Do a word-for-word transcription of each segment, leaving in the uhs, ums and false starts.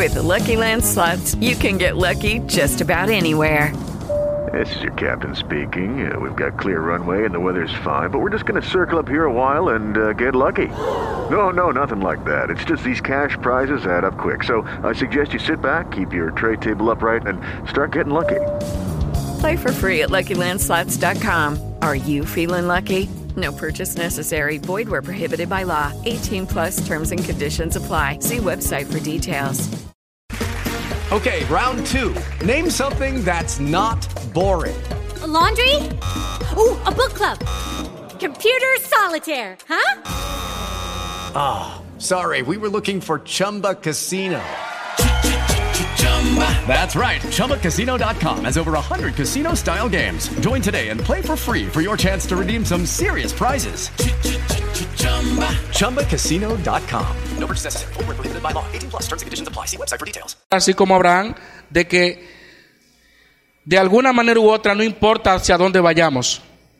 With the Lucky Land Slots, you can get lucky just about anywhere. This is your captain speaking. Uh, we've got clear runway and the weather's fine, but we're just going to circle up here a while and uh, get lucky. No, no, nothing like that. It's just these cash prizes add up quick. So I suggest you sit back, keep your tray table upright, and start getting lucky. Play for free at Lucky Land Slots dot com. Are you feeling lucky? No purchase necessary. Void where prohibited by law. eighteen plus terms and conditions apply. See website for details. Okay, round two. Name something that's not boring. A laundry? Ooh, a book club. Computer solitaire, huh? Ah, oh, sorry. We were looking for Chumba Casino. That's right. Chumba Casino dot com has over one hundred casino-style games. Join today and play for free for your chance to redeem some serious prizes. Chumba Casino dot com. No purchase necessary. Void where prohibited by law. eighteen plus terms and conditions apply. See website for details. Así como Abraham, de que de alguna manera u otra, no importa hacia dónde vayamos,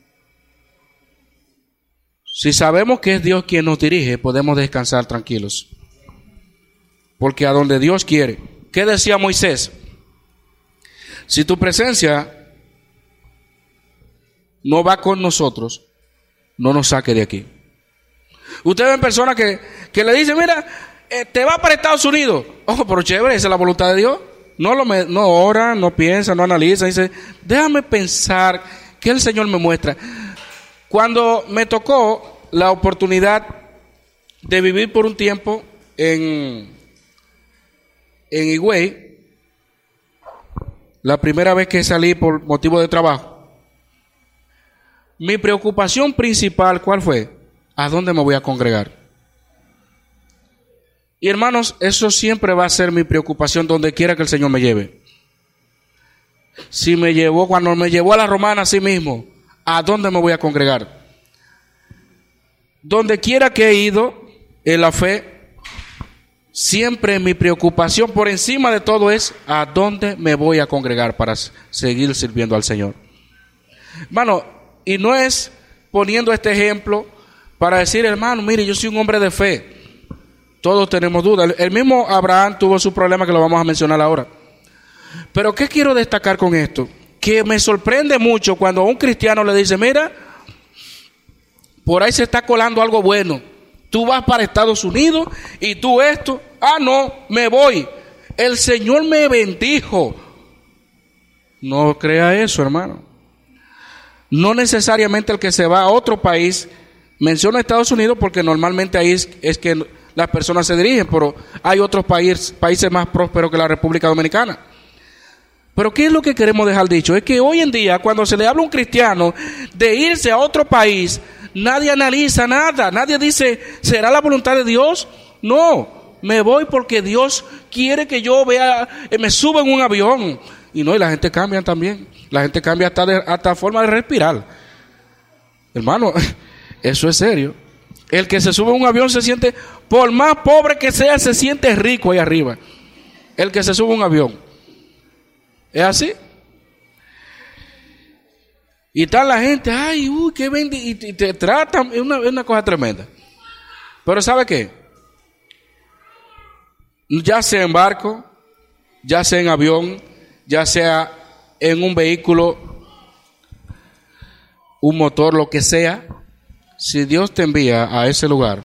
si sabemos que es Dios quien nos dirige, podemos descansar tranquilos. Porque a donde Dios quiere. ¿Qué decía Moisés? Si tu presencia no va con nosotros, no nos saque de aquí. Ustedes ven personas que, que le dicen, mira, eh, te va para Estados Unidos. Ojo, pero chévere, esa es la voluntad de Dios. No, lo me, no ora, no piensa, no analiza. Dice, déjame pensar que el Señor me muestra. Cuando me tocó la oportunidad de vivir por un tiempo en... en Higüey, la primera vez que salí por motivo de trabajo, mi preocupación principal, ¿cuál fue? ¿A dónde me voy a congregar? Y hermanos, eso siempre va a ser mi preocupación donde quiera que el Señor me lleve. Si me llevó, cuando me llevó a la Romana, así mismo, ¿a dónde me voy a congregar? Donde quiera que he ido en la fe, siempre mi preocupación por encima de todo es a dónde me voy a congregar para seguir sirviendo al Señor. Hermano, y no es poniendo este ejemplo para decir, hermano, mire, yo soy un hombre de fe. Todos tenemos dudas. El mismo Abraham tuvo su problema que lo vamos a mencionar ahora. Pero ¿qué quiero destacar con esto? Que me sorprende mucho cuando a un cristiano le dice, mira, por ahí se está colando algo bueno. Tú vas para Estados Unidos y tú esto, ah no, me voy. El Señor me bendijo. No crea eso, hermano. No necesariamente el que se va a otro país, menciona Estados Unidos porque normalmente ahí es, es que las personas se dirigen, pero hay otros países, países más prósperos que la República Dominicana. Pero ¿qué es lo que queremos dejar dicho? Es que hoy en día cuando se le habla a un cristiano de irse a otro país, nadie analiza nada, nadie dice, ¿será la voluntad de Dios? No, me voy porque Dios quiere que yo vea, eh, me suba en un avión. Y no, y la gente cambia también, la gente cambia hasta, de, hasta forma de respirar. Hermano, eso es serio. El que se sube en un avión se siente, por más pobre que sea, se siente rico ahí arriba. El que se sube en un avión. ¿Es así? Y está la gente, ay, uy, qué bendito, y te tratan, es una, es una cosa tremenda. Pero ¿sabe qué? Ya sea en barco, ya sea en avión, ya sea en un vehículo, un motor, lo que sea, si Dios te envía a ese lugar,